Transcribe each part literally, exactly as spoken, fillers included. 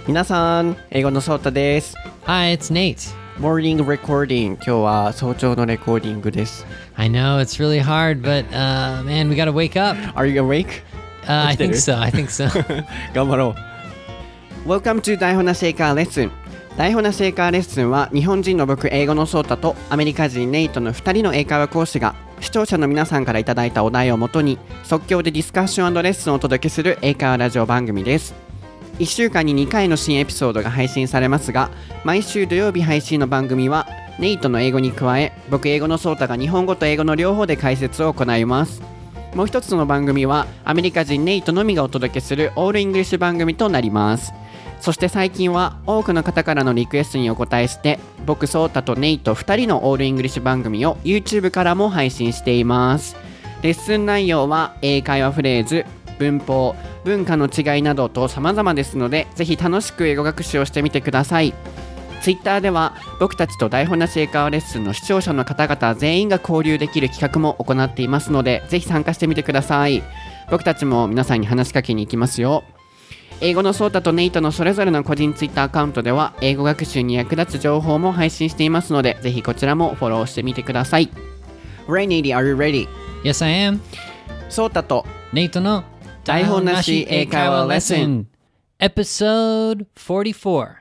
皆さん、英語のソータです。 Hi, it's Nate. Morning recording. 今日は早朝のレコーディングです。 I know it's really hard, but uh, man, we gotta wake up. Are you awake? Uh, I think so. I think so. 頑張ろう。 Welcome to 台本なし英会話レッスン。台本なし英会話レッスンは日本人の僕、英語のソータとアメリカ人ネイトのふたりの英会話講師が視聴者の皆さんからいただいたお題をもとに即興でディスカッション&レッスンをお届けする英会話ラジオ番組です。いっしゅうかんににかいの新エピソードが配信されますが、毎週土曜日配信の番組はネイトの英語に加え、僕英語のソータが日本語と英語の両方で解説を行います。もう一つの番組はアメリカ人ネイトのみがお届けするオールイングリッシュ番組となります。そして最近は多くの方からのリクエストにお答えして、僕ソータとネイトふたりのオールイングリッシュ番組を YouTube からも配信しています。レッスン内容は英会話フレーズ、文法、文化の違いなどと様々ですので、ぜひ楽しく英語学習をしてみてください。Twitter では僕たちと台本なし英会話レッスンの視聴者の方々全員が交流できる企画も行っていますので、ぜひ参加してみてください。僕たちも皆さんに話しかけに行きますよ。英語のソータとネイトのそれぞれの個人 Twitter アカウントでは英語学習に役立つ情報も配信していますので、ぜひこちらもフォローしてみてください。 Ray, Nady, are you ready? Yes, I am. ソータとネイトの台本なし英会話レッスン Episode forty-four.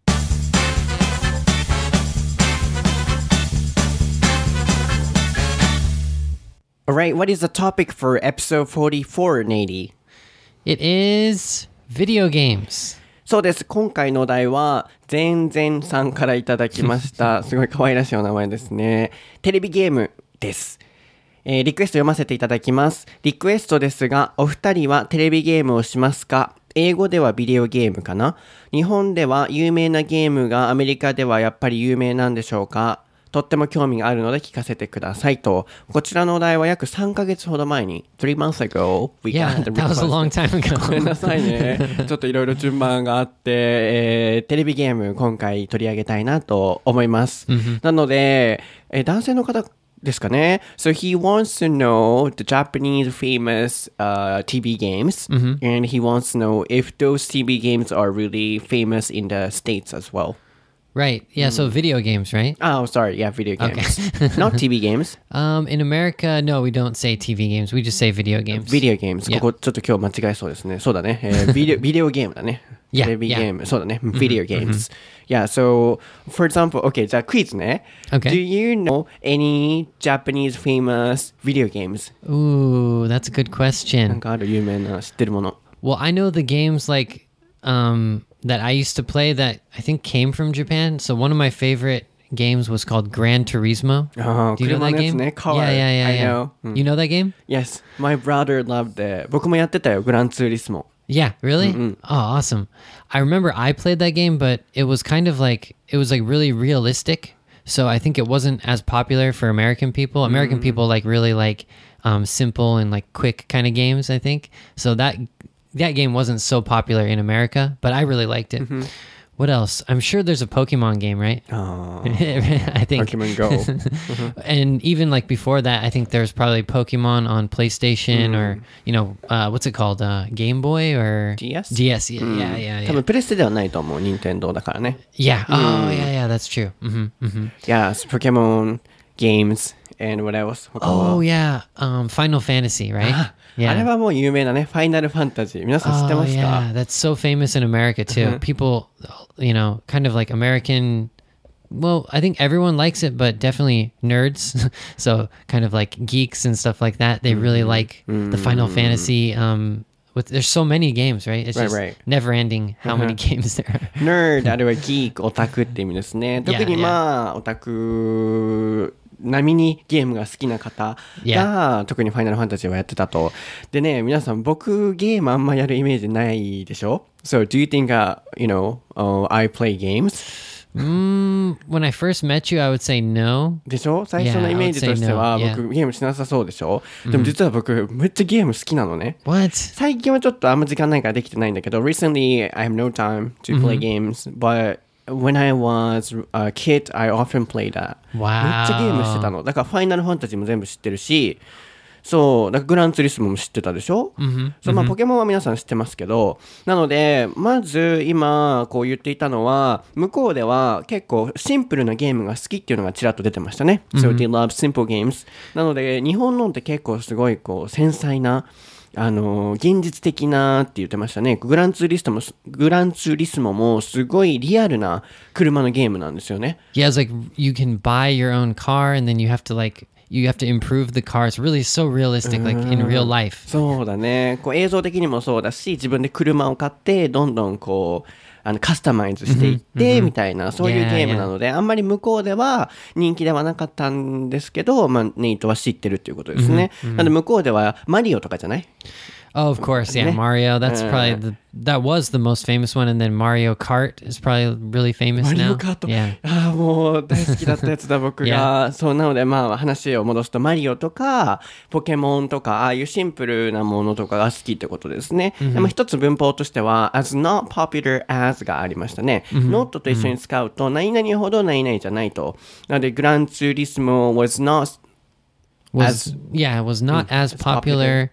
Alright, what is the topic for episode forty-four, Nady? It is video games. そうです。今回のお題は全然さんからいただきました。すごい可愛らしいお名前ですね。テレビゲームです。えー、リクエスト読ませていただきます。リクエストですが、お二人はテレビゲームをしますか？英語ではビデオゲームかな？日本では有名なゲームがアメリカではやっぱり有名なんでしょうか？とっても興味があるので聞かせてくださいと。こちらのお題は約さんかげつほど前に three months ago we Yeah, got the that was a long time ago. ごめんなさいね。ちょっといろいろ順番があって、えー、テレビゲーム今回取り上げたいなと思います。なので、えー、男性の方ですかね。So he wants to know the Japanese famous、uh, ティーブイ games、mm-hmm. and he wants to know if those ティーブイ games are really famous in the States as well.Right. Yeah. Mm. So video games, right? Oh, sorry. Yeah, video games. Okay. Not ティーブイ games. Um, in America, no, we don't say T V games. We just say video games. Video games. ここちょっと今日間違えそうですね。そうだね。えー、ビデオ、ビデオゲームだね。 Yeah, テレビゲーム。 yeah. そうだね。Video games. Yeah. So, for example, okay. じゃあクイズね。 Okay. Do you know any Japanese famous video games? Ooh, that's a good なん question. かある有名な知ってるもの。 Well, I know the games like um.that I used to play that I think came from Japan. So one of my favorite games was called Gran Turismo. Oh, do you know that game? Car. Yeah, yeah, yeah. I yeah. know. You know that game? Yes, my brother loved it. 僕もやってたよ、グランツーリスモ。 Yeah, really? Mm-hmm. Oh, awesome. I remember I played that game, but it was kind of like, it was like really realistic. So I think it wasn't as popular for American people. American mm-hmm. people like really like um, simple and like quick kind of games, I think. So that...That game wasn't so popular in America, but I really liked it. Mm-hmm. What else? I'm sure there's a Pokemon game, right? Oh, I think Pokemon Go. mm-hmm. And even like before that, I think there's probably Pokemon on PlayStation mm. or, you know, uh, what's it called? Uh, Game Boy or? D S? D S, yeah, mm. yeah, yeah, yeah. 多分プレステではないと思う、任天堂だからね。 Yeah, oh, mm. yeah, yeah, that's true. Mm-hmm, mm-hmm. Yes, Pokemon games and what else? Oh, yeah, um, Final Fantasy, right? あれはもう有名なね、ファイナルファンタジー。皆さん知ってますか？ Oh, yeah, that's so famous in America too. People, you know, kind of like American, well, I think everyone likes it, but definitely nerds. So kind of like geeks and stuff like that. They really like the Final Fantasy. Um, with there's so many games, right? It's just right, right. never ending how many games there are. Nerd, あれはギーク、オタクって意味ですね。特にまあ、オタク並みにゲームが好きな方が、yeah. 特にファイナルファンタジーはやってたと。でね、皆さん僕ゲームあんまやるイメージないでしょ？ So do you think、uh, you know、uh, I play games?、Mm, when I first met you, I would say no. でしょ？最初のイメージとしては、yeah, 僕、no. ゲームしなさそうでしょ？ でも実は僕、めっちゃゲーム好きなのね。 What? 最近はちょっとあんま時間ないからできてないんだけど、Recently, I have no time to play、mm-hmm. games, but...When I was a kid, I often played that. Wow. めっちゃゲームしてたの。だからファイナルファンタジーも全部知ってるし、 そうだからグランツーリスモも知ってたでしょ、 Mm-hmm. そうまあ、ポケモンは皆さん知ってますけど、なのでまず今こう言っていたのは向こうでは結構シンプルなゲームが好きっていうのがちらっと出てましたね、So they love simple games。 なので日本のって結構すごいこう繊細なあのー、現実的なって言ってましたね。グランツーリストもグランツーリスモもすごいリアルな車のゲームなんですよね。 Yeah, it's like you can buy your own car and then you have to like you have to improve the car. It's really so realistic, like in real life. そうだね。こう映像的にもそうだし、自分で車を買ってどんどんこうあのカスタマイズしていってみたいな、そういうゲームなので、あんまり向こうでは人気ではなかったんですけど、まあネイトは知ってるっていうことですね。なので向こうではマリオとかじゃない ？Oh, of course, yeah, Mario. That's probably the that was the most famous one, and then Mario Kart is probably really famous now. マリオカート、 yeah. ああもう大好きだったやつだ僕が。そうなのでまあ話を戻すとマリオとかポケモンとかああいうシンプルなものとかが好きってことですね。Mm-hmm. でも一つ文法としては as not popular as がありましたね。Mm-hmm. not と一緒に使うと何々ほど何々じゃないと。なのでグランツーリスモ was not was as yeah it was not as popular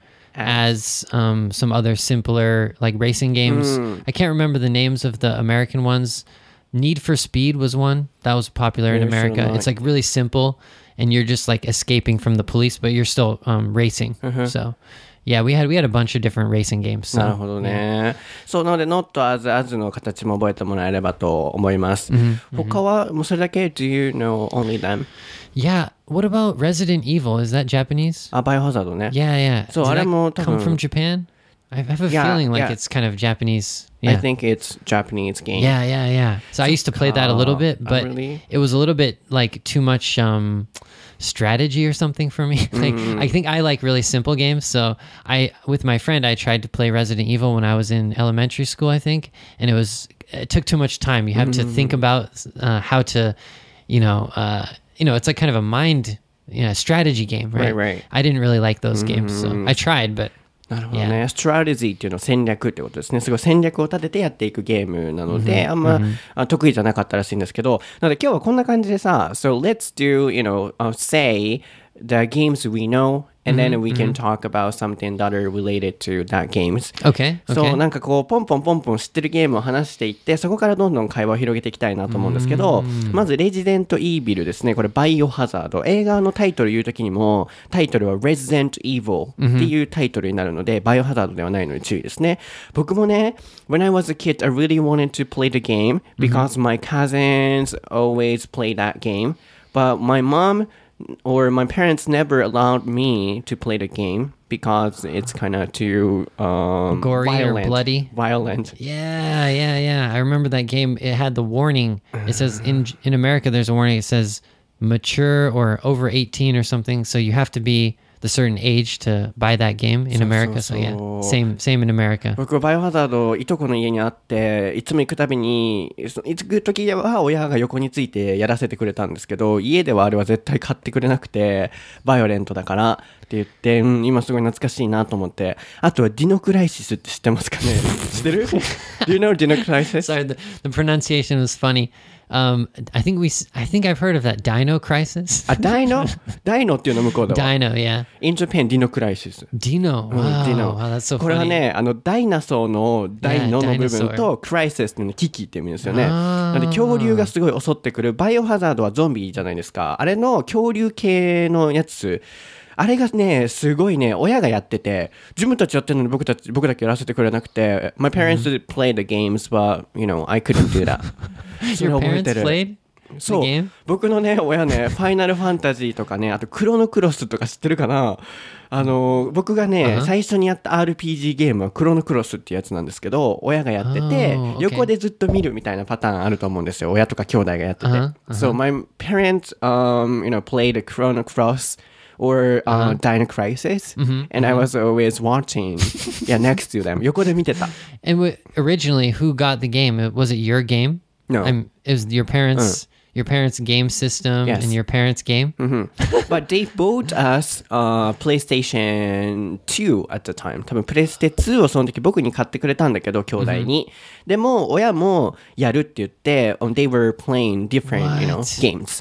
as um, some other simpler like racing games. Mm. I can't remember the names of the American ones. Need for Speed was one that was popular in America. It's like really simple and you're just like escaping from the police, but you're still um, racing. Uh-huh. So yeah, we had we had a bunch of different racing games. So, なるほどね。そうなので not as as の形も覚えてもらえればと思います。Mm-hmm. 他はもうそれだけ Do you know only them?Yeah, what about Resident Evil? Is that Japanese? あ、バイオハザードね。 Yeah, yeah. そう、あれも多分 come from Japan? I have a yeah, feeling like yeah. it's kind of Japanese. Yeah. I think it's Japanese game. Yeah, yeah, yeah. So I used to play that a little bit, but oh, really? It was a little bit like too much um, strategy or something for me. like mm. I think I like really simple games. So I, with my friend, I tried to play Resident Evil when I was in elementary school, I think, and it was it took too much time. You have mm. to think about uh, how to, you know. Uh, You know, it's like kind of a mind, you know, strategy game, right? Right, right. I didn't really like those games, so I tried, but なるほどね。ストラテジーっていうのは戦略ってことですね。すごい戦略を立ててやっていくゲームなので、mm-hmm. あんま、mm-hmm. 得意じゃなかったらしいんですけど、なので今日はこんな感じでさ、So let's do, you know, uh, say the games we know.And then we can talk about something that are related to that games. Okay. そうなんかこうポンポンポンポン知ってるゲームを話していってそこからどんどん会話を広げていきたいなと思うんですけど、まずレジデントイービルですね。これバイオハザード。映画のタイトル言うときにもタイトルは Resident Evil っていうタイトルになるので、バイオハザードではないので注意ですね。僕もね When I was a kid I really wanted to play the game because my cousins always play that game, but my mom or my parents never allowed me to play the game because it's kind of too um, gory violent, or bloody. Violent. Yeah, yeah, yeah. I remember that game. It had the warning. It says in in America there's a warning. It says mature or over eighteen or something. So you have to be the certain age to buy that game in America. So, so, so yeah, same same in America. 僕バイオハザードいとこの家にあっていつも行くたびに行く時は親が横についてやらせてくれたんですけど家ではあれは絶対買ってくれなくてバイオレントだからって言って、うん、今すごい懐かしいなと思ってあとはディノクライシスって知ってますかね知ってる Do you know Dino Crisis? Sorry, the, the pronunciation was funny.Um, I think we. I think I've heard of that Dino Crisis. あ、ダイノ、ダイノっていうの向こうでは。 Dino, yeah. In Japan, Dino Crisis. Dino, wow, Dino. wow, that's so funny. これはね、あのダイナソーのダイノの部分と、クライシスっていうの危機っていう意味ですよね。なので恐竜がすごい襲ってくる。バイオハザードはゾンビじゃないですか。あれの恐竜系のやつ。あれがね、すごいね、親がやってて、自分たちやってるのに僕たち、僕だけやらせてくれなくて、My parents did play the games, but, you know, I couldn't do that. Your parents played? そう僕のね親ねファイナルファンタジーとかねあとクロノクロスとか知ってるかなあの僕がね、uh-huh. 最初にやった アールピージー ゲームはクロノクロスっていうやつなんですけど親がやってて、oh, okay. 横でずっと見るみたいなパターンあると思うんですよ親とか兄弟がやってて、uh-huh. Uh-huh. So my parents um, you know, played Chrono Cross or uh, uh-huh. Dino Crisis mm-hmm. and I was always watching yeah, next to them 横で見てた And w- originally who got the game? Was it your game? No. I'm, it was your parents、uh.Your parents' game system yes. and your parents' game? Mm-hmm. But they bought us uh, PlayStation ツー at the time. 多分プレステツーをその時僕に買ってくれたんだけど、兄弟に。Mm-hmm. でも親もやるって言って、um, they were playing different, you know, games.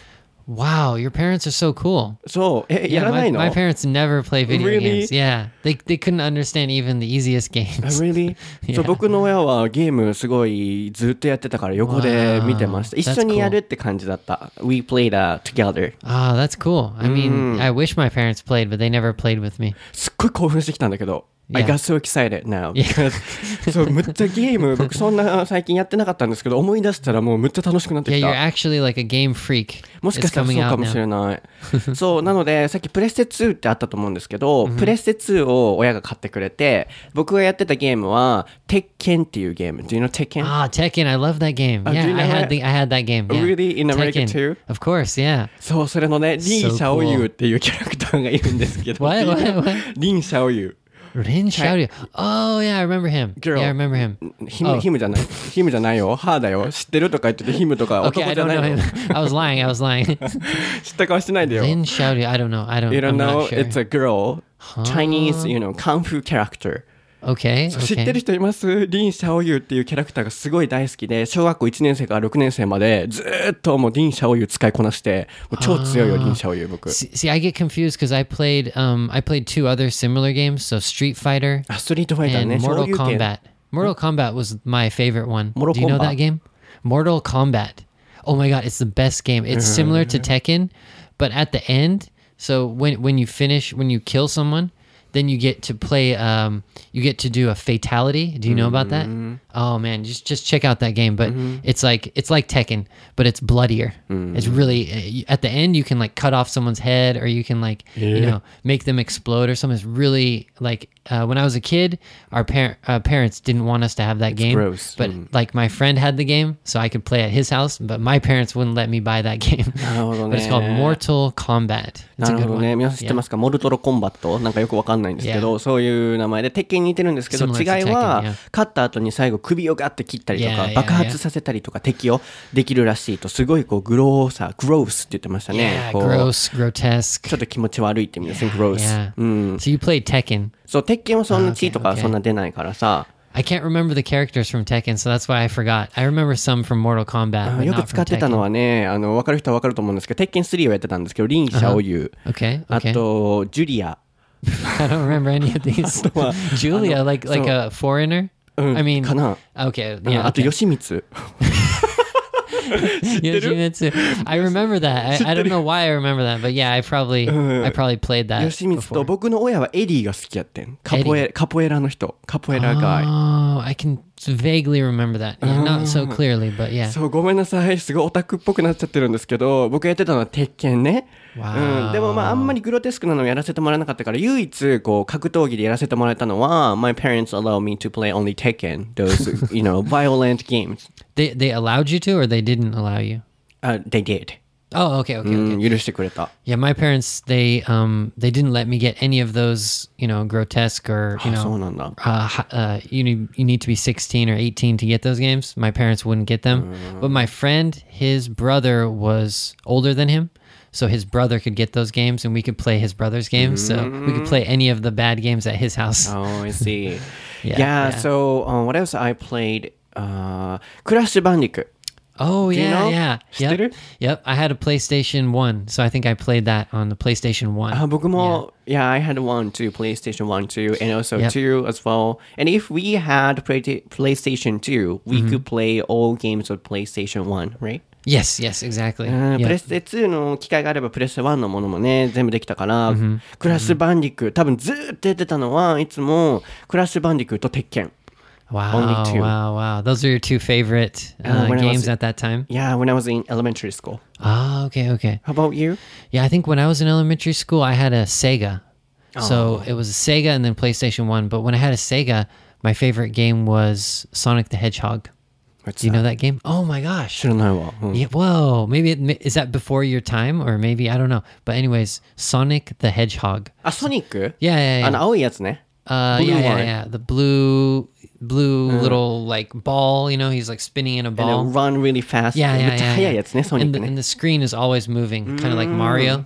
Wow, your parents are so cool. そう、え、や Yeah, らな my, いの my parents never play video Really? games. Yeah, they they couldn't understand even the easiest games. Really? Yeah. そう、僕の親はゲームすごいずっとやってたから横で見てました。 Wow, 一緒にやるって感じだった。We played、uh, together. Ah, that's cool. I mean, Mm. I wish my parents played, but they never played with me. すっごい興奮してきたんだけど。I Yeah. got so excited now. Because そうむっちゃゲーム僕そんな最近やってなかったんですけど思い出したらもうむっちゃ楽しくなって Yeah, き you're た。 actually like a game freak. もしか It's したらそう coming か out もしれ now. ないそうなのでさっきプレステツーってあったと思うんですけど、プレステツーを親が買ってくれて僕がやってたゲームは鉄拳っていうゲーム Do you know 鉄拳 Ah, Tekken. I love that game. Oh, do Yeah, you know I had it? the I had that game. Yeah. Really? In America Tekken. too? Of course, yeah. そうそれのねリン・シ So ャオユ cool. ーっていうキャラクターがいるんですけど What? What? What? リン・シャオユ Rin Xiaoryu. Oh, yeah, I remember him. Girl. Yeah, I remember him. ヒム、 Oh. ヒムじゃないヒムじゃないよハーだよ知ってるとか言っててヒムとか Okay, 男 I じゃ don't ない know の him. I was lying. I was lying. 知った顔してないでよ Rin Xiaoryu. I don't know. I don't. You don't I'm know not sure. it's a girl Chinese you know kung fu character Okay. 知ってる Okay. 人いますリン・シャオユーっていうキャラクターがすごい大好きで小学校いちねん生からろくねん生までずーっともうリン・シャオユー使いこなしてもう超強いよリン・シャオユー僕 See, see, I get confused because I played um I played two other similar games. So Street Fighter あストリートファイター and ね Mortal 昇竜拳 Kombat. Mortal Kombat was my favorite one. Mortal Do you know Kombat. that game? Mortal Kombat. Oh my god, it's the best game. It's similar to Tekken, but at the end, so when when you finish when you kill someone, then you get to play um you get to do a fatality. Do you know about that? Oh man, just just check out that game, but it's like it's like Tekken, but it's bloodier. It's really uh, at the end you can like cut off someone's head or you can like you Yeah. know make them explode or something. It's really like uh, when I was a kid, our par- uh, parents didn't want us to have that game, gross. but like my friend had the game, so I could play at his house. But my parents wouldn't let me buy that game. なるほど But it's called ね Mortal Kombat. It's な a る good ほどね one. 皆さん知って Yeah. ますかモルトロコンバットなんかよくわかんないんですけど、そういう名前で鉄拳に似てるんですけど Similar to 違いは Tekken, yeah. 勝った後に最後首をガッて切ったりと Yeah, か yeah, 爆発させたりとか敵をできるらしいとすごいこうグローさグロースって言ってましたね Yeah, こう gross, grotesque. ちょっと気持ち悪いって意味ですね Yeah, グロース yeah. うん So you played Tekken. そう鉄拳はそんな Ah, 血 okay, とか okay. そんな出ないからさ I can't remember the characters from Tekken, so that's why I forgot. I remember some from Mortal Kombat, あ but よく not 使 from ってたの Tekken. はねあの分かる人は分かると思うんですけど鉄拳スリーをやってたんですけどリン・シャオユー Okay, あ okay. とジュリア I don't remember any of these. Julia, like like so- a foreigner. うん I mean, かな okay, うん yeah. あと Okay. 吉光 Yoshimitsu. I remember that. I, I don't know why I remember that, but yeah, I probably I probably played that 吉光と before. 僕の親はエディが好きやってんカポエカポエラの人カポエラガイ Oh, I can vaguely remember that. Yeah, not so clearly, but yeah. そうごめんなさいすごいオタクっぽくなっちゃってるんですけど僕がやってたのは鉄拳ね、 Wow. うん、でもまああんまりグロテスクなのをやらせてもらえなかったから唯一こう格闘技でやらせてもらえたのは My parents allow me to play only Tekken those you know violent games They they allowed you to, or they didn't allow you? uh, They did Oh, okay, okay, う okay. ん許してくれた Yeah, my parents they um they didn't let me get any of those, you know, grotesque or you あそう know, なんだ uh, hi- uh you need you need to be sixteen or eighteen to get those games. My parents wouldn't get them, but my friend, his brother was older than him. So his brother could get those games and we could play his brother's games. So we could play any of the bad games at his house. Oh, I see. Yeah, yeah, yeah. so um, what else I played? Uh, Crash Bandicoot. Oh, Do you yeah, know? yeah. 知ってる Yep. Yep. I had a PlayStation one. So I think I played that on the PlayStation one. あ僕も、yeah. I had one too, PlayStation one too, and also Yep. two as well. And if we had play- PlayStation two, we could play all games of PlayStation one, right? Yes, yes, exactly. うん Yep. プレステツーの機会があればプレステワンのものもね全部できたから、クラッシュバンディクー多分ずーっとやってたのはいつもクラッシュバンディクーと鉄拳 Wow, Only two. wow, wow. Those are your two favorite uh, Uh, when I games was- at that time? Yeah, when I was in elementary school. Ah, okay, okay. How about you? Yeah, I think when I was in elementary school, I had a Sega. So Oh. it was a Sega and then PlayStation one. But when I had a Sega, my favorite game was Sonic the Hedgehog. What's Do you know that game? Oh my gosh. 知らないわ、うん Yeah, whoa. Maybe it, is that before your time or maybe I don't know. But anyways, Sonic the Hedgehog. あ、ソニック Yeah, yeah, yeah. あの青いやつね Uh, blue yeah, yeah, one. yeah. The blue, blue little like ball. You know, he's like spinning in a And ball. then run really fast Yeah, め yeah, っちゃ yeah. 速い yeah. やつねソニッ And ク the, ね and the screen is always moving, kind of like Mario.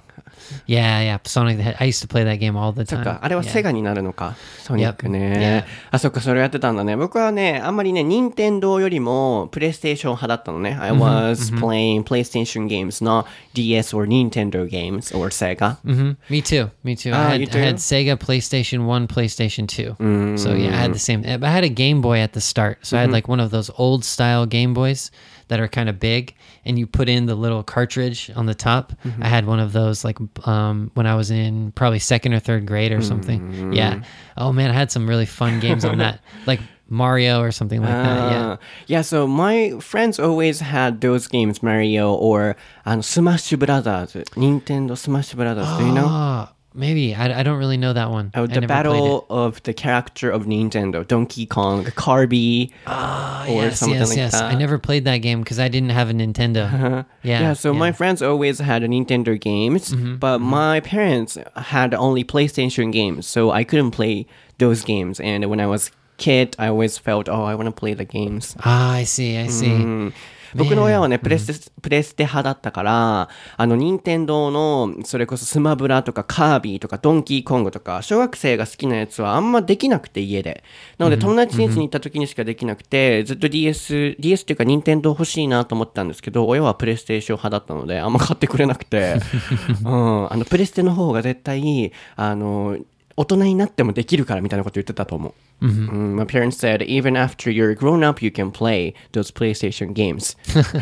Yeah, yeah. Sonic the Hedgehog. I used to play that game all the そっ time. か、あれは Yeah. セガになるのか、ソニックね。 Yep. あ、そっか、それやってたんだね。僕はね、あんまりね、任天堂よりもプレイステーション派だったのね。I was playing PlayStation games, not D S or Nintendo games or Sega. hmm Me too. Me too. Ah, I, you had, I had too? Sega, PlayStation one, PlayStation two. So yeah, I had the same. I had a Game Boy at the start. So I had like one of those old style Game Boys that are kind of big, and you put in the little cartridge on the top. I had one of those like um, when I was in probably second or third grade or something. Yeah. Oh man, I had some really fun games on that, like Mario or something like that. Yeah. Uh, yeah, so my friends always had those games, Mario or um, Smash Brothers, Nintendo Smash Brothers. Do you know? Oh, maybe I, I don't really know that one. Oh, I the never played it. battle of the character of Nintendo, Donkey Kong, Kirby, Oh, or yes, something yes, like yes. that. I never played that game because I didn't have a Nintendo. Yeah. Yeah, so my friends always had Nintendo games, but my parents had only PlayStation games, so I couldn't play those games. And when I was kid, I always felt, oh, I want to play the games. Ah, I see, I see. うん僕の親はね、プレステ、プレステ派だったから、あの、任天堂の、それこそスマブラとかカービィとかドンキーコングとか、小学生が好きなやつはあんまできなくて、家で。なので、友達ん家に行った時にしかできなくて、ずっと ディーエス、ディーエス っていうか任天堂欲しいなと思ったんですけど、親はプレイステーション派だったので、あんま買ってくれなくて、うん、あの、プレステの方が絶対、あの、大人になってもできるからみたいなこと言ってたと思う。Mm-hmm. Mm, my parents said, even after you're grown up, you can play those PlayStation games.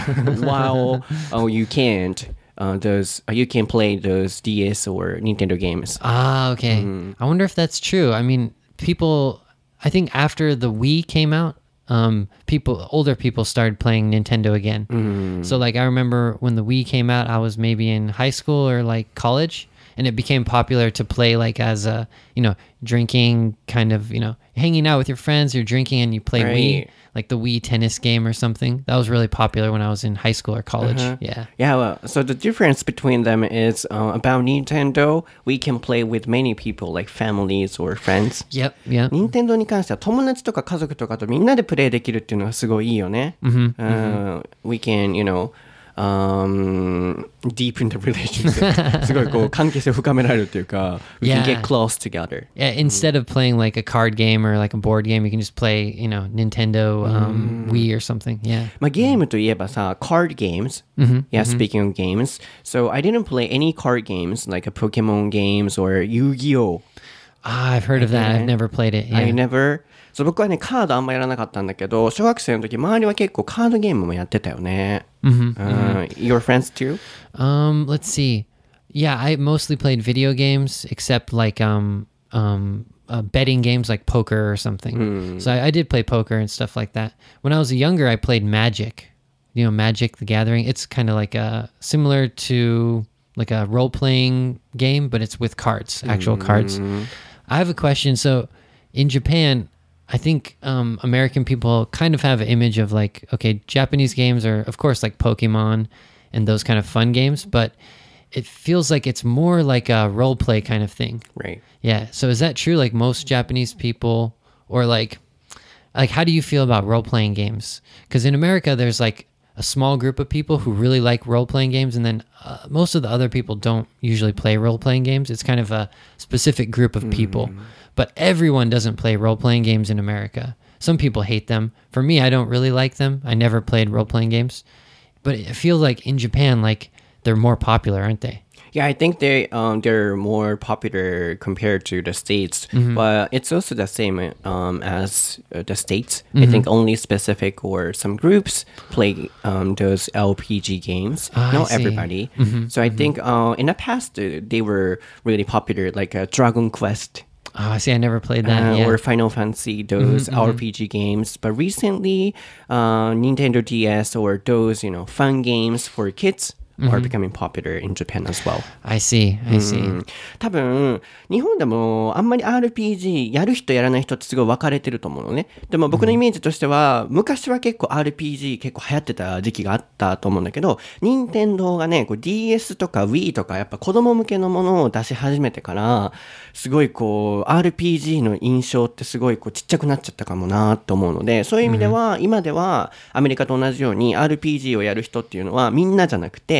While oh, you can't, uh, those uh, you can play those D S or Nintendo games. Ah, okay. I wonder if that's true. I mean, people, I think after the Wii came out, um, people, older people started playing Nintendo again. So like, I remember when the Wii came out, I was maybe in high school or like college. And it became popular to play like as a, you know, drinking kind of, you know, hanging out with your friends, you're drinking and you play Right. Wii, like the Wii tennis game or something. That was really popular when I was in high school or college. Yeah. Yeah, well, so the difference between them is uh, about Nintendo, we can play with many people, like families or friends. Yep. Yep. 任天堂に関しては友達とか家族とかとみんなでプレイできるっていうのがすごいいいよね。Mm-hmm. Uh, we can, you know, um, deepen the relationship. すごいこう関係性を深められるというか、we can Yeah. get close together. Yeah, instead of playing like a card game or like a board game, you can just play, you know, Nintendo, um, Wii or something. Yeah. まあゲームといえばさ、card games. Yeah, speaking of games. So I didn't play any card games like a Pokemon games or Yu-Gi-Oh! Ah, I've heard of that. I've never played it. I Yeah. never. そう僕はね、カードあんまやらなかったんだけど、小学生の時、周りは結構カードゲームもやってたよね。Uh, your friends too? Um, let's see. Yeah, I mostly played video games, except like um um uh, betting games like poker or something. So I, I did play poker and stuff like that. When I was younger, I played Magic. You know, Magic the Gathering. It's kind of like a similar to like a role playing game, but it's with cards, actual cards. I have a question. So in Japan, I think um, American people kind of have an image of like, okay, Japanese games are, of course, like Pokemon and those kind of fun games, but it feels like it's more like a role play kind of thing. Right. Yeah. So is that true? Like most Japanese people, or like, like how do you feel about role playing games? Because in America, there's like a small group of people who really like role playing games, and then uh, most of the other people don't usually play role playing games. It's kind of a specific group of people. But everyone doesn't play role-playing games in America. Some people hate them. For me, I don't really like them. I never played role-playing games. But it feels like in Japan, like they're more popular, aren't they? Yeah, I think they um they're more popular compared to the States, but it's also the same um as uh, the States. I think only specific or some groups play um those L P G games. Ah, I Not see. everybody. So I think uh in the past uh, they were really popular, like uh, Dragon Quest. Oh, I see. I never played that. Uh, yeah. or Final Fantasy, those R P G games. But recently, uh, Nintendo D S or those, you know, fun games for kids are becoming popular in Japan as well. I see. I see. 多分、日本でもあんまり アールピージー やる人やらない人ってすごい分かれてると思うのね。でも僕のイメージとしては、昔は結構 アールピージー 結構流行ってた時期があったと思うんだけど、任天堂がね、こう ディーエス とか Wii とかやっぱ子供向けのものを出し始めてから、すごいこう アールピージー の印象ってすごいこうちっちゃくなっちゃったかもなと思うので、そういう意味では、今ではアメリカと同じように アールピージー をやる人っていうのはみんなじゃなくて、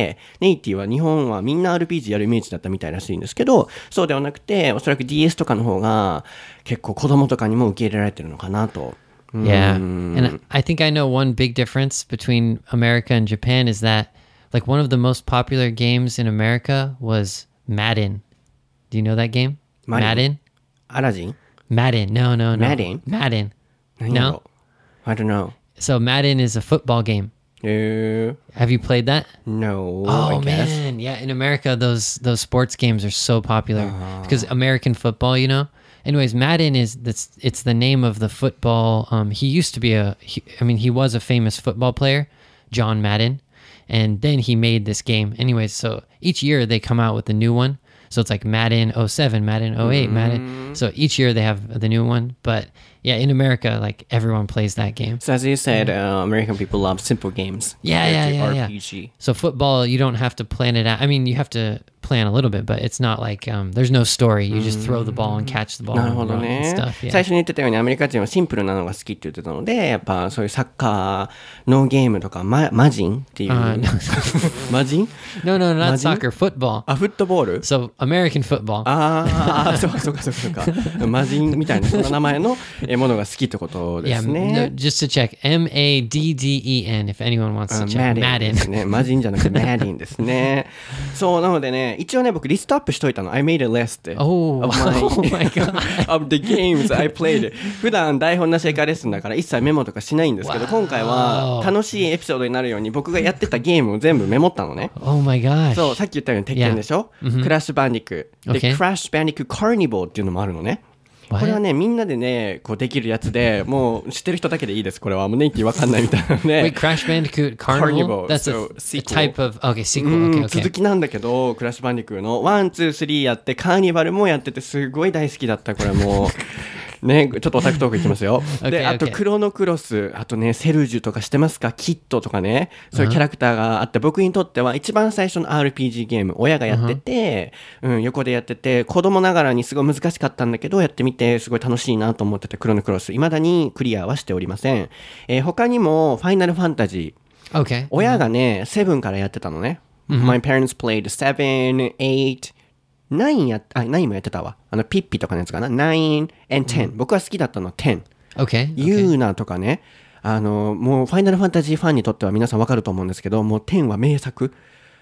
で、ネイティは日本はみんな アールピージー やるイメージだったみたいらしいんですけど、そうではなくて、おそらく ディーエス とかの方が結構子供とかにも受け入れられてるのかなと。 Yeah. And I think I know one big difference between America and Japan is that like one of the most popular games in America was Madden. Do you know that game? Madden? アラジン Madden. No, no, no. Madden? Madden. 何やろ No? I don't know. So Madden is a football game. えー、 Have you played that? No, Oh I guess. man, yeah. In America, those those sports games are so popular because American football, you know. Anyways, Madden is that's it's the name of the football. Um, he used to be a. He, I mean, he was a famous football player, John Madden, and then he made this game. Anyways, so each year they come out with a new one. So it's like Madden oh seven, Madden oh eight, Madden. So each year they have the new one. But yeah, in America, like everyone plays that game. So as you said, uh, American people love simple games. Yeah, yeah, compared to yeah, yeah. R P G. So football, you don't have to plan it out. I mean, you have to plan a little bit, but it's not like um, there's no story. You just throw the ball and catch the ball なる and ほど run and ね。 stuff. Yeah. 最初に言ってたようにアメリカ人はシンプルなのが好きって言ってたので、やっぱそういうサッカーのゲームとか、ママジンっていう。 あーマジン No, no, not Imagine? soccer, football. あ、フットボール So American football. ああ、そうかそうかそうかそうか。マジンみたいなそんな名前のえものが好きってことで Yeah, す no, ね。 just to check, M A D D E N if anyone wants to あ check. マディンですね。マジンじゃなくてマディンですね。そう、なのでね、一応ね、僕リストアップしといたの。I made a list Oh, of my, oh my God. of the games I played. 普段台本なしエカレッスンだから一切メモとかしないんですけど、 Wow. 今回は楽しいエピソードになるように僕がやってたゲームを全部メモったのね。 Oh my gosh. そう、さっき言ったように鉄拳でしょ、クラッシュバンディク。で、 Okay. クラッシュバンディクカーニボーっていうのもあるのね。 What? これはね、みんなでね、こうできるやつで、もう知ってる人だけでいいです。これはもうネイティわかんないみたいなので。 Wait, Crash Bandicoot Carnival? Carnival, That's a, so a sequel. type of... Okay, う sequel. ん Okay, 続 okay. きなんだけど、クラッシュバンディクーのワン、ツー、スリーやって、カーニバルもやってて、すごい大好きだった。これもう。ね、ちょっとオタクトークいきますよ。で、 Okay, あと okay. クロノクロス、あとね、セルジュとかしてますか？キットとかね、そういうキャラクターがあって、僕にとっては一番最初の アールピージー ゲーム、親がやってて、うん、横でやってて、子供ながらにすごい難しかったんだけど、やってみてすごい楽しいなと思ってて、クロノクロス、未だにクリアはしておりません。えー他にも、ファイナルファンタジー、 Okay. 親がね、セブンからやってたのね。My parents played seven, eight, nine やっ、あ、ナインもやってたわ。あの、ピッピとかのやつかな。nine and ten、僕は好きだったの ten。 Okay. ユーナとかね。あの、もう、ファイナルファンタジーファンにとっては皆さんわかると思うんですけど、もうtenは名作。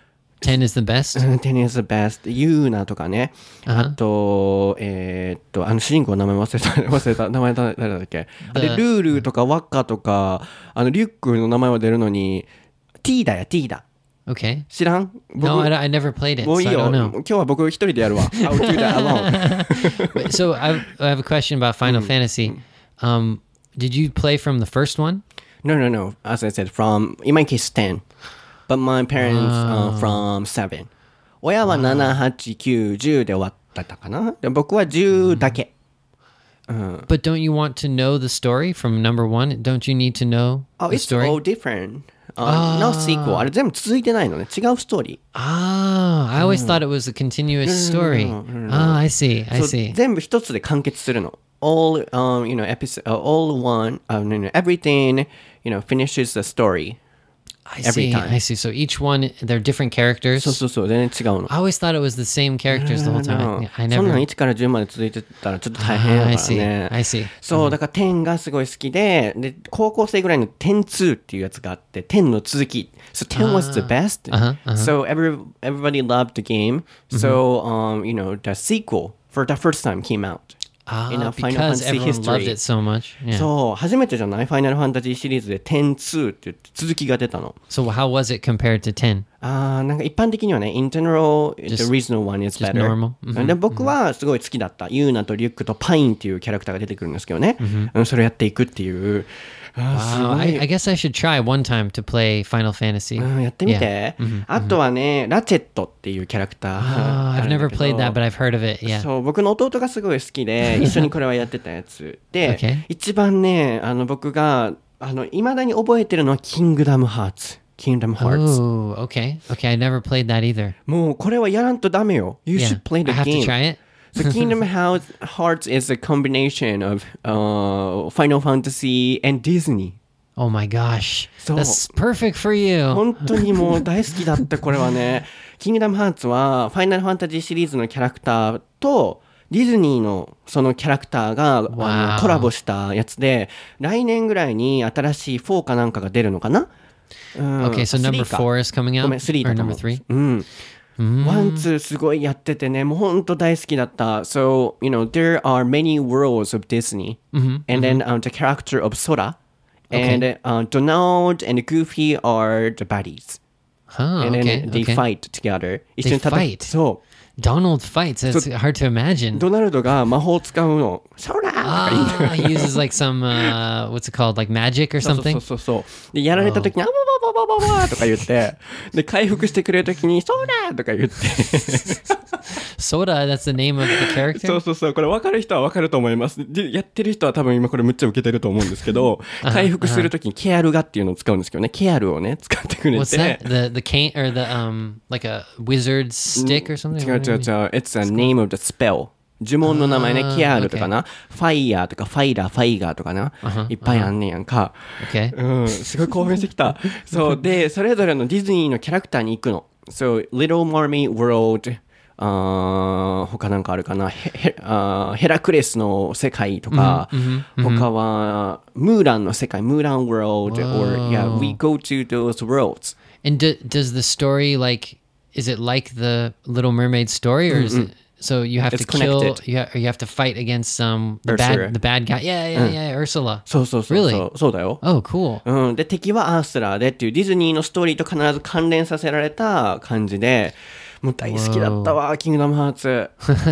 ten is the best? うん ten is the best。ユーナとかね。あと、えーっと、あの、主人公の名前忘れた、忘れた。名前誰だっけ。あれ、ルールとかワッカとか、あの、リュックの名前は出るのに、T だよ、T だ。 Okay. 知らん？ No, I, I never played it, もう so いい I よ。 don't 今 know. 日は僕一人でやるわ。I'll do that alone. But- so I, I have a question about Final Fantasy. Um, did you play from the first one? No, no, no. As I said, from, in my case, ten. But my parents are from seven. 親はなな、はち、きゅう、じゅうで終わったかな。で僕はじゅうだけ。 But don't you want to know the story from number one? Don't you need to know Oh, the it's story? all different. Uh, no sequel. あれ全部続いてないのね。違うストーリー。 Ah, I always thought it was a continuous story. Ah, I see. I そう see. 全部一つで完結するの。All, um, you know, episode, uh, all one, uh, no, no, everything, you know, finishes the story. I every see. time. I see. So each one, they're different characters. そうそうそう、全然違うの。 I always thought it was the same characters the whole time. Yeah, I そんなん never. いちからじゅうまで続いてたらちょっと大変や Ah, か I ら see. ね。 I see. そう、だからじゅうがすごい好きで、で、高校生ぐらいのじゅうにっていうやつがあって、じゅうの続き。So じゅう was the best. Uh-huh, uh-huh. So every, everybody loved the game. So, um, you know, the sequel for the first time came out. Ah, in a Final because Fantasy everyone loved history. it so much. Yeah. そう、初めてじゃないファイナルファンタジーシリーズでじゅうにって言って続きが出たの。 So how was it compared to ten? あーなんか一般的にはね、in general, the Just- original one is just better. normal? で、僕はすごい好きだった。ユーナとリュックとパインっていうキャラクターが出てくるんですけどね。うんそれをやっていくっていう。あーす Wow, ご I, い I guess I should try one time to play Final Fantasy. うんやってみ Yeah. て。あとはね、ラチェットっていうキャラクター Ah, あ I've るんだ never けど。 played that, but I've heard of it. Yeah. そう、僕の弟がすごい好きで、一緒にこれはやってたやつ。で、 Okay. 一番ね、あの僕が、あの、未だに覚えてるのは、キングダムハーツ。キングダムハーツ。 Oh, okay. Okay, I never played that either. もう、これはやらんとダメよ。You Yeah. should play the I have game. to try it. The Kingdom Hearts is a combination of uh, Final Fantasy and Disney. Oh my gosh. そう That's perfect for you. 本当にもう大好きだったこれはね。キングダムハーツはファイナルファンタジーシリーズのキャラクターとディズニーのそのキャラクターが、 Wow. あのコラボしたやつで、来年ぐらいに新しいフォーかなんかが出るのかな、うん、 Okay, so number スリーか four is coming out? ごめん、スリーだ Or と思 number う。 three? うん。 Mm. ワン、ツーすごいやっててね、もう本当大好きだった。So, you know, there are many worlds of Disney. Mm-hmm. And then、uh, the character of Sora. And、uh, Donald and Goofy are the buddies. Huh, And then okay, they okay. fight together. 一 They 緒に戦 fight? そう。 Donald fights. That's hard to imagine. ドナルドが魔法を使うの。ソラーとか言いながら Ah, he uses like some, uh, what's it called? Like magic or そう something? そうそうそう。で、やられた時に、あわわわわわわとか言って、で、回復してくれる時に、ソラーとか言って。 Soda, that's the name of the そ character? うそうそう。これ分かる人は分かると思います。で、やってる人は多分今これむっちゃ受けてると思うんですけど、回復する時にケアルガっていうのを使うんですけどね。ケアルをね、使ってくれ What's て that?。The the cane or the um like a wizard's stick or something? 違う違う違う。It's a name of the spell. 呪文の名前ね、 あーケアルとかな、ファイヤーとかファイラー、ファイガーとかな、いっぱいあんねやんか。 Okay. うん、すごい興奮してきた。そうで、それぞれのディズニーのキャラクターに行くの。So, Little Mermaid World、あ他なんかあるかな、ヘヘあヘラクレスの世界とか、他はムーランの世界、ムーラン World, or yeah, we go to those worlds. And do, does the story like is it like the Little Mermaid story or is it so you have It's to kill connected. you, ha- or you have to fight against um the Ursula. bad the bad guy? Yeah, yeah, yeah, Ursula. そうそうそうそう。 Really? そうだよ。 Oh, cool. うん、で敵はアースラーでっていうディズニーのストーリーと必ず関連させられた感じで、もう大好きだったわ、キングダムハーツ。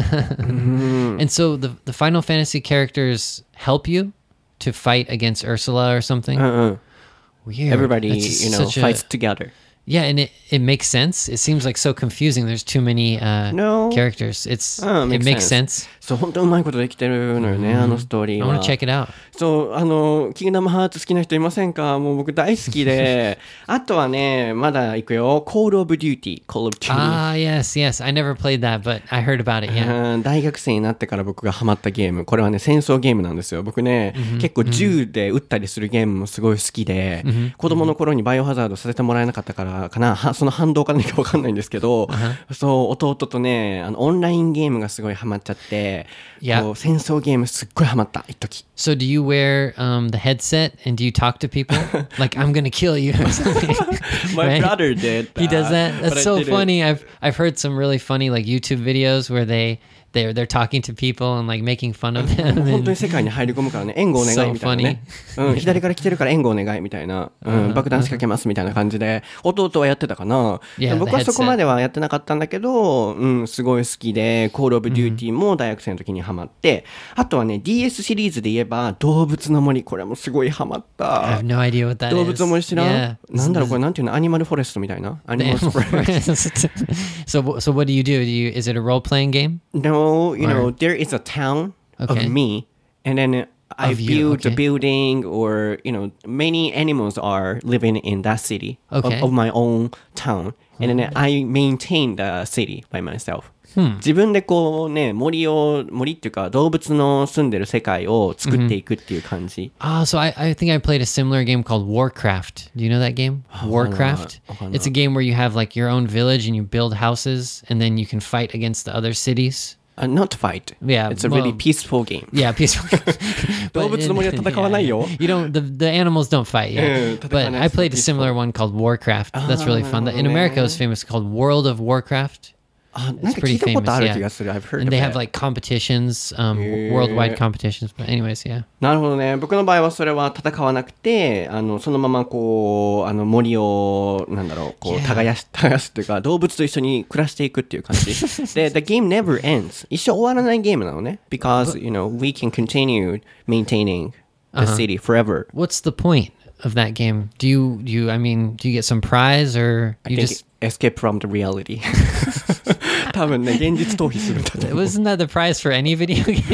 And so the the Final Fantasy characters help you to fight against Ursula or something? うんうん。 Weird. Everybody, That's you know, such a- fights together. Yeah, and it, it makes sense. It seems like so confusing. There's too many uh, No. characters. It's Oh, it makes makes sense. sense. そう、本当にうまいことできてるのよね、あのストーリ I ー want は。 to check it out. そう、あの、キングダムハーツ好きな人いませんか？もう僕大好きで。あとはね、まだ行くよ。Call of Duty。Call of Duty。 Ah, yes, yes. I never played that, but I heard about it. Yeah. うん大学生になってから僕がハマったゲーム。これはね、戦争ゲームなんですよ。僕ね、結構銃で撃ったりするゲームもすごい好きで、子供の頃にバイオハザードさせてもらえなかったからかな、はその反動か何かわかんないんですけど、そう、弟とね、あの、オンラインゲームがすごいハマっちゃって、 いやこう戦争ゲームすっごいハマった、一時。 So do you wear um, the headset and do you talk to people like I'm gonna kill you or something? My Right? brother did He does that. but That's I so didn't. funny. I've I've heard some really funny like YouTube videos where they they're they're talking to people and like making fun of them. 本当 And に世界に入り込むからね、援護お願いみたいなね。うん、左から来てるから援護お願いみたいな、うん、爆弾仕掛けますみたいな感じで、弟はやってたかな。 Yeah, でも僕 the は headset. そこまではやってなかったんだけど、うん、すごい好きで、Call of Duty も大学生の時にハマって、あとはね、ディーエス シリーズで言えば、動物の森、これもすごいハマっ I た have。no idea what that 動 is. 物の森知らん、 Yeah. なんだろうこれなんていうの、アニマルフォレストみたいな。アニマル The フォレスト。 so wh- so what do you do? Do you is it a role playing game? No, you know, Or- there is a town Okay. of me, and then I Of you, build a okay. building, or you know, many animals are living in that city Okay. of, of my own town, and then I maintain the city by myself. うん自分でこうね、森を、森っていうか動物の住んでる世界を作っていくっていう感じ。 Ah, so I, I think I played a similar game called Warcraft. Do you know that game? Warcraft. It's a game where you have like your own village and you build houses and then you can fight against the other cities. Uh, not fight. Yeah, It's a really well- peaceful game. Yeah, peaceful. 動物の森は戦わないよ。 You don't. The the animals don't fight. Yeah, うん、戦わない。 but I played a similar one called Warcraft. That's really fun. In America, it was famous called World of Warcraft. あ、なん It's か聞い pretty たことあ famous. る Yeah, 気がする。I've heard and of they have it. like competitions, um, Yeah. worldwide competitions. But anyways, yeah. なるほどね。僕の場合はそれは戦わなくて、あの、そのままこう、あの森を、なんだろう、こう、 Yeah. 耕し、耕すっていうか、動物と一緒に暮らしていくっていう感じ。で、the game never ends. 一生終わらないゲームなのね。Because, you know, we can continue maintaining the city forever. What's the point of that game? Do you do you? I mean, do you get some prize or I you think just? escape from the reality. 多分ね、現実逃避するんだと思う。 Wasn't that the prize for any video game?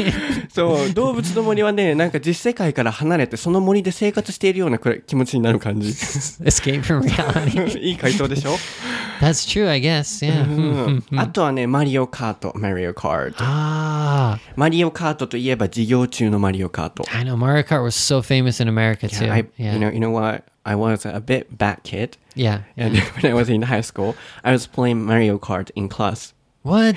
そう動物の森はねなんか実世界から離れてその森で生活しているようなくらい気持ちになる感じ Escape from reality. いい回答でしょ That's true, I guess. Yeah. うんあとはねマリオカートマリオカート Ah, マリオカートといえば授業中のマリオカート I know Mario Kart was so famous in America too. I, Yeah. you know, you know what? I was a bit bad kid. Yeah. And when I was in high school, I was playing Mario Kart in class. What?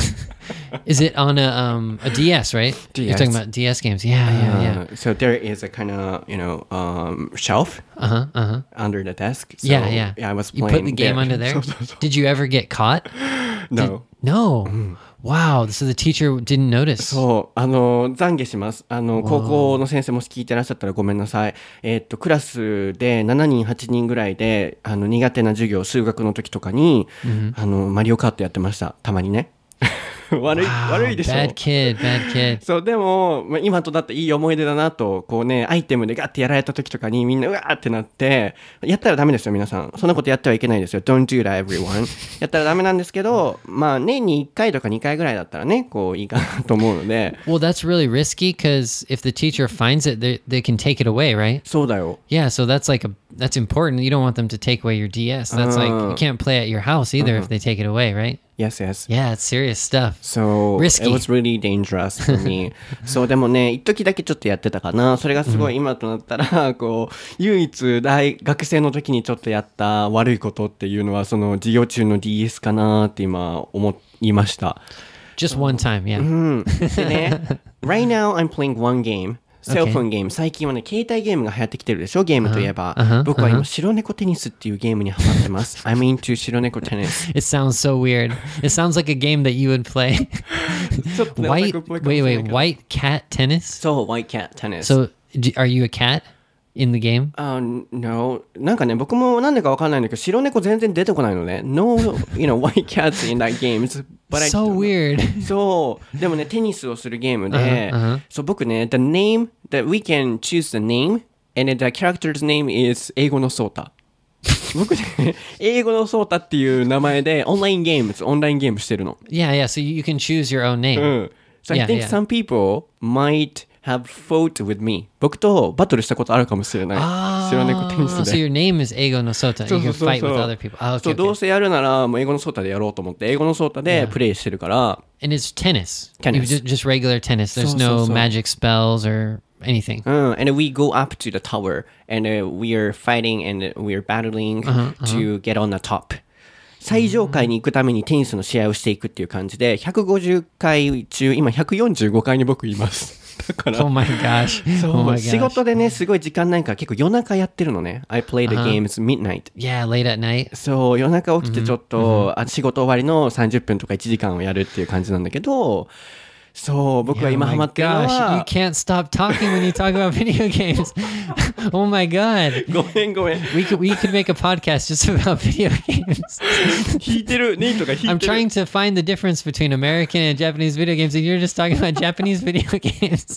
Is it on a um a D S, right? D S. You're talking about D S games. Yeah, yeah, yeah. Uh, so there is a kind of, you know, um, shelf Uh-huh, uh-huh. under the desk. So, Yeah, yeah. Yeah, I was You playing put the game there. under there? そうそうそう Did you ever get caught? No. No. Wow. So the teacher didn't notice. そう、あの、懺悔します。あの、高校の先生もし聞いてらっしゃったらごめんなさい。えーっと、クラスでしちにん、はちにんぐらいで、あの、苦手な授業、数学の時とかに、あの、マリオカートやってました。たまにね。悪い、 Wow, 悪いでしょ。 bad kid, bad kid. そう、でも、まあ、今とだっていい思い出だなと、こうね、アイテムでガッてやられた時とかにみんなうわーってなって、やったらダメですよ、皆さん。そんなことやってはいけないですよ。Don't do that, everyone. やったらダメなんですけど、まあ、年にいっかいとかにかいぐらいだったらね、こう、いいかなと思うので。 Well, that's really risky because if the teacher finds it, they, they can take it away, right? そうだよ。 Yeah, so that's like a that's important. You don't want them to take away your D S. That's like you can't play at your house either if they take it away, right? Yes, yes. Yeah, it's serious stuff. So, Risky. it was really dangerous for me. そう、でもね、一時だけちょっとやってたかな。それがすごい今となったら、こう、唯一大学生の時にちょっとやった悪いことっていうのは、その授業中の ディーエス かなって今思いました。 Just one time, yeah. うん。でね、right now I'm playing one game. セルフォンゲーム。最近はね、携帯ゲームが流行ってきてるでしょゲームといえば。 Uh-huh, uh-huh, 僕は今、白猫テニスっていうゲームにハマってます。I'm into 白猫テニス。 It sounds so weird. It sounds like a game that you would play. ちょっとね、 White, オタクっぽいかもし wait, れない wait, けど white cat tennis? そう、White Cat Tennis。 So, d- are you a cat in the game? Uh, no. なんかね、僕もなんでかわかんないんだけど、白猫全然出てこないのね。No, you know, white cats in that game. But I So don't know. weird. そう。でもね、テニスをするゲームで、 Uh-huh, uh-huh. そう、僕ね、the name, that we can choose the name, and the character's name is 英語のソータ。僕ね、英語のソータっていう名前で、オンラインゲーム、オンラインゲームしてるの。 Yeah, yeah. So you can choose your own う name. ん。So I Yeah, think yeah. some people might have fought with me. 僕とバトルしたことあるかもしれない。白猫テニス Oh, で。 so your name is Eigo no Sota. そう You そ can うそう fight そう with other people. Ah, そ okay, うどう okay. せやるならもう英語のソータでやろうと思って英語のソータでプレイしてるから、 And it's tennis. Tennis. You just, just regular tennis. There's So, no so, so. magic spells or anything. うん、and we go up to the tower and、uh, we are fighting and we are battling to get on the top、最上階に行くためにテニスの試合をしていくっていう感じでひゃくごじゅっかい中今ひゃくよんじゅうごかいに僕いますだから Oh my gosh. そう、 Oh my 仕 gosh. 事でねすごい時間ないから結構夜中やってるのね I play the games midnight Yeah, late at night. そう夜中起きてちょっと、あ仕事終わりのさんじゅっぷんとかいちじかんをやるっていう感じなんだけどそう僕は Oh 今ハマ my ってるの gosh. You は can't stop talking when you talk about video games. Oh my god. ごめんごめん We could we could make a podcast just about video games. 弾いてるネイトが弾 I'm いてる trying to find the difference between American and Japanese video games, and you're just talking about Japanese video games.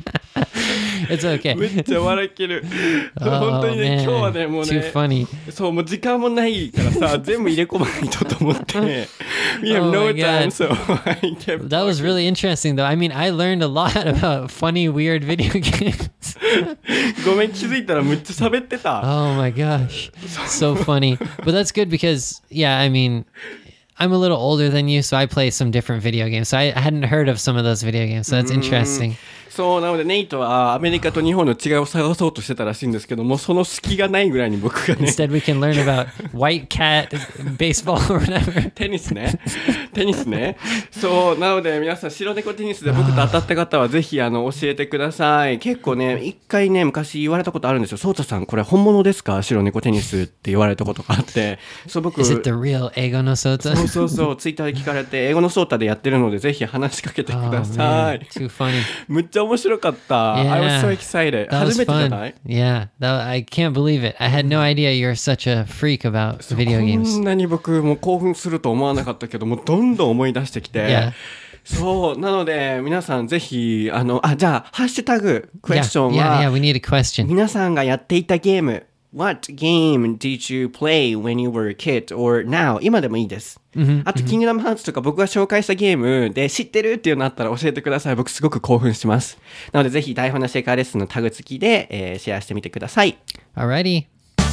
It's okay. めっちゃ笑ける Oh, 本当にね man. 今日はねもう Too ね funny. そうもう時間もないからさ全部入れ込まないとと思って We have Oh no my time God. so I kept That was really interesting, though. I mean, I learned a lot about funny, weird video games. ごめん気づいたらめっちゃ喋ってた Oh my gosh. So funny. But that's good because, yeah, I mean, I'm a little older than you, so I play some different video games. So I, I hadn't heard of some of those video games. So that's interesting. そうなのでネイトはアメリカと日本の違いを探そうとしてたらしいんですけどもその隙がないぐらいに僕がね Instead, we can learn about white cat, baseball, or whatever. テニスねテニスねそうなので皆さん白猫テニスで僕と当たった方はぜひあの教えてください結構ね一回ね昔言われたことあるんですよソータさんこれ本物ですか白猫テニスって言われたことがあってそう僕 Is it the real Eigo no そう Sota? そうそうツイッターで聞かれて英語のソータでやってるのでぜひ話しかけてく Oh, ださ man. い Too funny. むっちゃ面白かった I was so excited That 初 was めてじゃ fun. ない Yeah, that, I can't believe it. I had no idea you're such a freak about video こ games. んなに僕も興奮すると思わなかったけどもうどんどん思い出してきて、 Yeah. そうなので皆さんぜひあのあじゃあハッシュタグクエ Yeah, スチョン yeah, は yeah, we need a question. 皆さんがやっていたゲーム What game did you play when you were a kid or now? 今でもいいです。Mm-hmm. あと、キングダムハーツとか僕が紹介したゲームで知ってるっていうのあったら教えてください。僕すごく興奮します。なのでぜひ台本なシェイカーレッスンのタグ付きで、えー、シェアしてみてください。 Alrighty.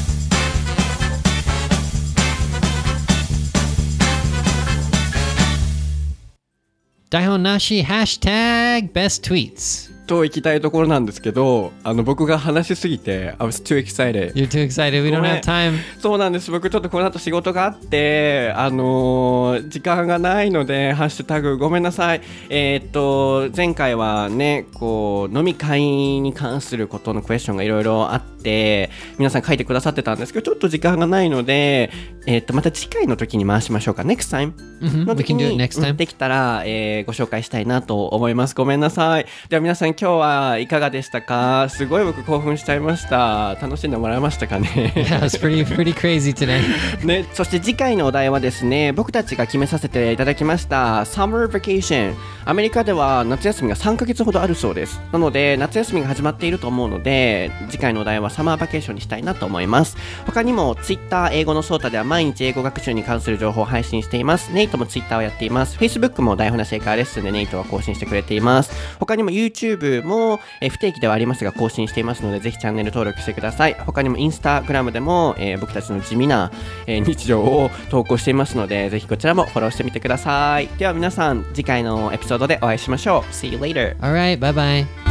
台本なしハッシュタグ best tweets と行きたいところなんですけど、あの僕が話しすぎて I was too excited. You're too excited. We don't have time. そうなんです。僕ちょっとこの後仕事があってあのー、時間がないのでハッシュタグごめんなさい。えー、っと前回はねこう飲み会に関することのクエスチョンがいろいろあって皆さん書いてくださってたんですけどちょっと時間がないので、えー、っとまた次回の時に回しましょうか。 Next time、mm-hmm. の時に We can do it next time. できたら、えー、ご紹介したいなと思います。ごめんなさい。では皆さん今日はいかがでしたか？すごい僕興奮しちゃいました。楽しんでもらえましたかね？ Yeah, it's pretty, pretty crazy today. ね、そして次回のお題はですね、僕たちが決めさせていただきました Summer Vacation。アメリカでは夏休みがさんかげつほどあるそうです。なので夏休みが始まっていると思うので次回のお題はサマーバケーションにしたいなと思います。他にも Twitter 英語のソータでは毎日英語学習に関する情報を配信しています。ネイトも Twitter をやっています。 Facebook も台本なシェイカーレッスンでネイトは更新してくれています。他にも YouTube もえ不定期ではありますが更新していますのでぜひチャンネル登録してください。他にも Instagram でも、えー、僕たちの地味な、えー、日常を投稿していますのでぜひこちらもフォローしてみてください。では皆さん次回のエピソードでお会いしましょう。 See you later. Alright, bye bye.